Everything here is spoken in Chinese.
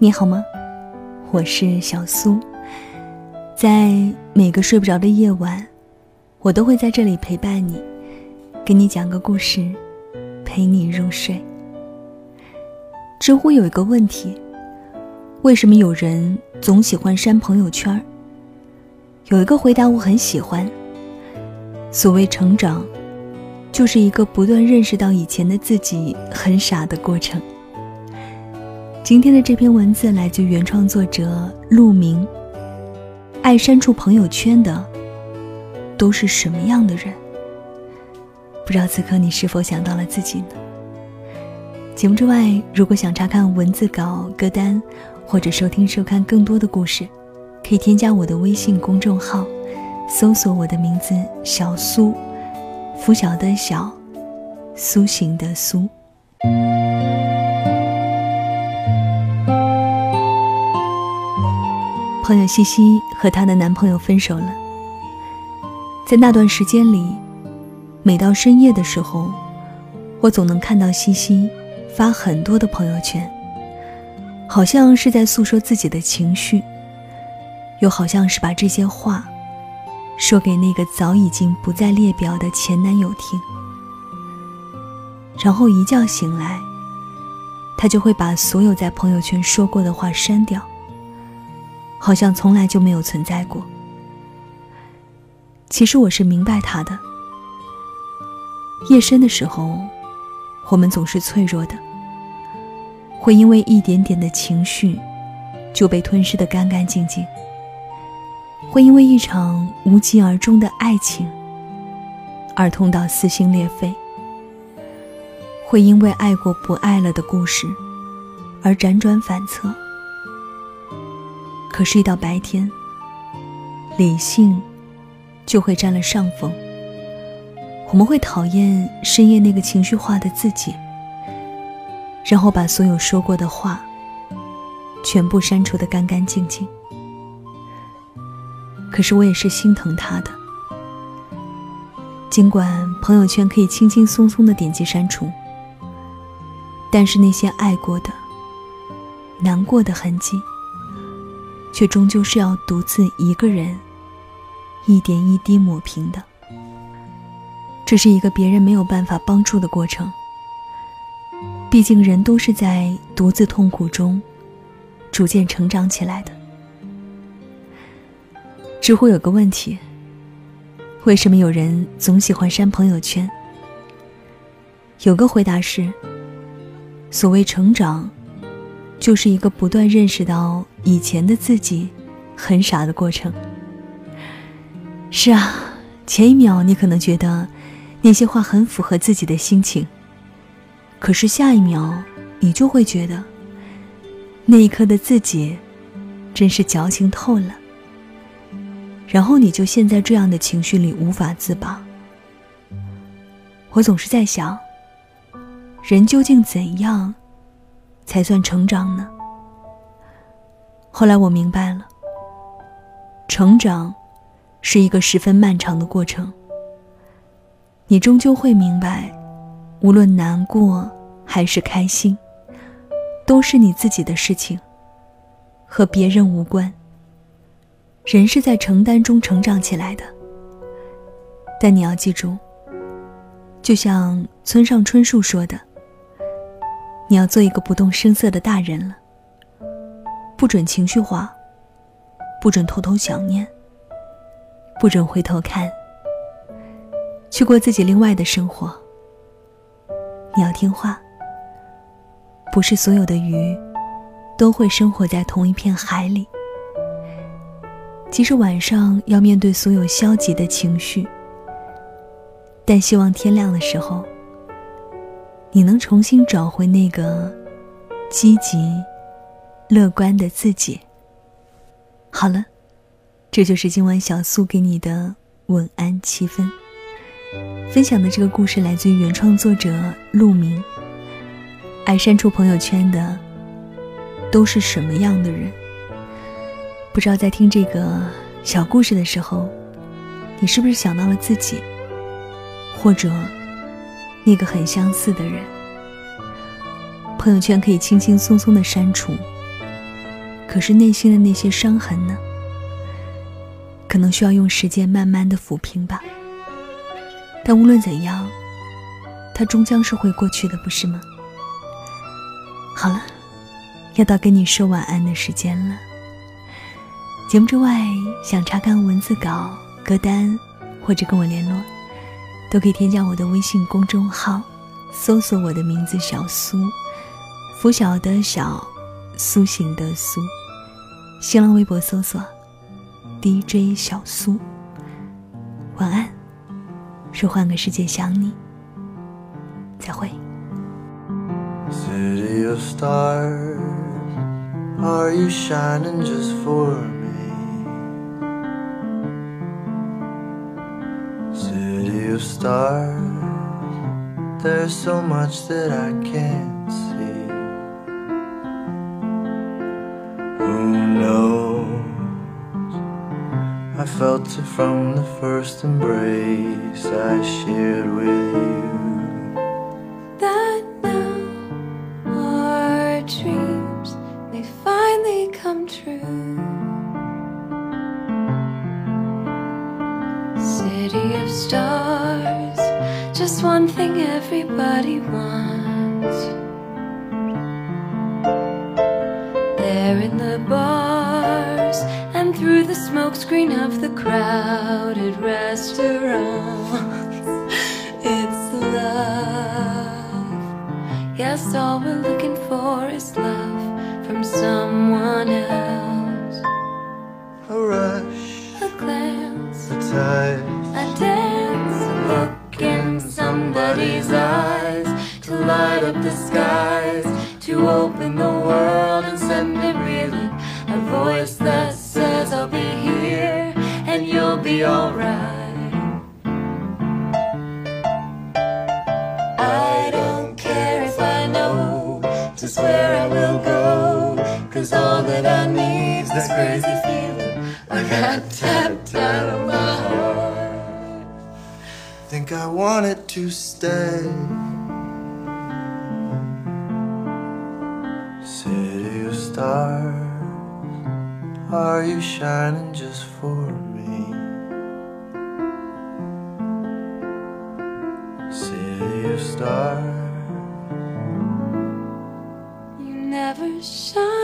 你好吗？我是小苏，在每个睡不着的夜晚，我都会在这里陪伴你，给你讲个故事，陪你入睡。知乎有一个问题，为什么有人总喜欢删朋友圈？有一个回答我很喜欢，所谓成长，就是一个不断认识到以前的自己很傻的过程。今天的这篇文字来自原创作者陆明。爱删除朋友圈的都是什么样的人？不知道此刻你是否想到了自己呢？节目之外，如果想查看文字稿、歌单，或者收听收看更多的故事，可以添加我的微信公众号，搜索我的名字小苏，拂晓的小，苏醒的苏。朋友西西和她的男朋友分手了。在那段时间里，每到深夜的时候，我总能看到西西发很多的朋友圈，好像是在诉说自己的情绪，又好像是把这些话说给那个早已经不在列表的前男友听。然后一觉醒来，他就会把所有在朋友圈说过的话删掉，好像从来就没有存在过。其实我是明白他的，夜深的时候，我们总是脆弱的，会因为一点点的情绪就被吞噬得干干净净，会因为一场无疾而终的爱情而痛到撕心裂肺，会因为爱过不爱了的故事而辗转反侧。可是一到白天，理性就会占了上风，我们会讨厌深夜那个情绪化的自己，然后把所有说过的话全部删除得干干净净。可是我也是心疼他的，尽管朋友圈可以轻轻松松地点击删除，但是那些爱过的、难过的痕迹，却终究是要独自一个人一点一滴抹平的。这是一个别人没有办法帮助的过程，毕竟人都是在独自痛苦中逐渐成长起来的。知乎有个问题，为什么有人总喜欢删朋友圈？有个回答是，所谓成长，就是一个不断认识到以前的自己很傻的过程。是啊，前一秒你可能觉得那些话很符合自己的心情，可是下一秒你就会觉得那一刻的自己真是矫情透了，然后你就陷在这样的情绪里无法自拔。我总是在想，人究竟怎样才算成长呢？后来我明白了，成长是一个十分漫长的过程。你终究会明白，无论难过还是开心，都是你自己的事情，和别人无关。人是在承担中成长起来的，但你要记住，就像村上春树说的，你要做一个不动声色的大人了，不准情绪化，不准偷偷想念，不准回头看，去过自己另外的生活。你要听话，不是所有的鱼都会生活在同一片海里。即使晚上要面对所有消极的情绪，但希望天亮的时候，你能重新找回那个积极乐观的自己。好了，这就是今晚小苏给你的晚安7分。分享的这个故事来自于原创作者陆明。爱删除朋友圈的都是什么样的人？不知道在听这个小故事的时候，你是不是想到了自己，或者那个很相似的人？朋友圈可以轻轻松松的删除， 可是内心的那些伤痕呢？可能需要用时间慢慢的抚平吧。但无论怎样，它终将是会过去的，不是吗？好了，要到跟你说晚安的时间了。节目之外，想查看文字稿、歌单或者跟我联络，都可以添加我的微信公众号，搜索我的名字小苏，拂晓的小，苏醒的苏。新浪微博搜索 DJ 小苏。晚安，是换个世界想你，再会。 City of stars, are you shining just for me? City of stars, there's so much that I can't see. Who knows? I felt it from the first embrace I shared with you. That now our dreams may finally come true. City of stars, just one thing everybody wants. There in the bars and through the smokescreen of the crowded restaurants, it's love. Yes, all we're looking for is love from someone else. A rush, A glance, a touch, a dance, a look in somebody's eyes, to light up the skies, to open the world and send it reeling. A voice that says I'll be here and you'll be alright. I don't care if I know just where I will go, 'cause all that I need's this crazy feeling I got tapped out of my heart. think I want it to stay. City of stars, are you shining just for me? City of stars, You never shine.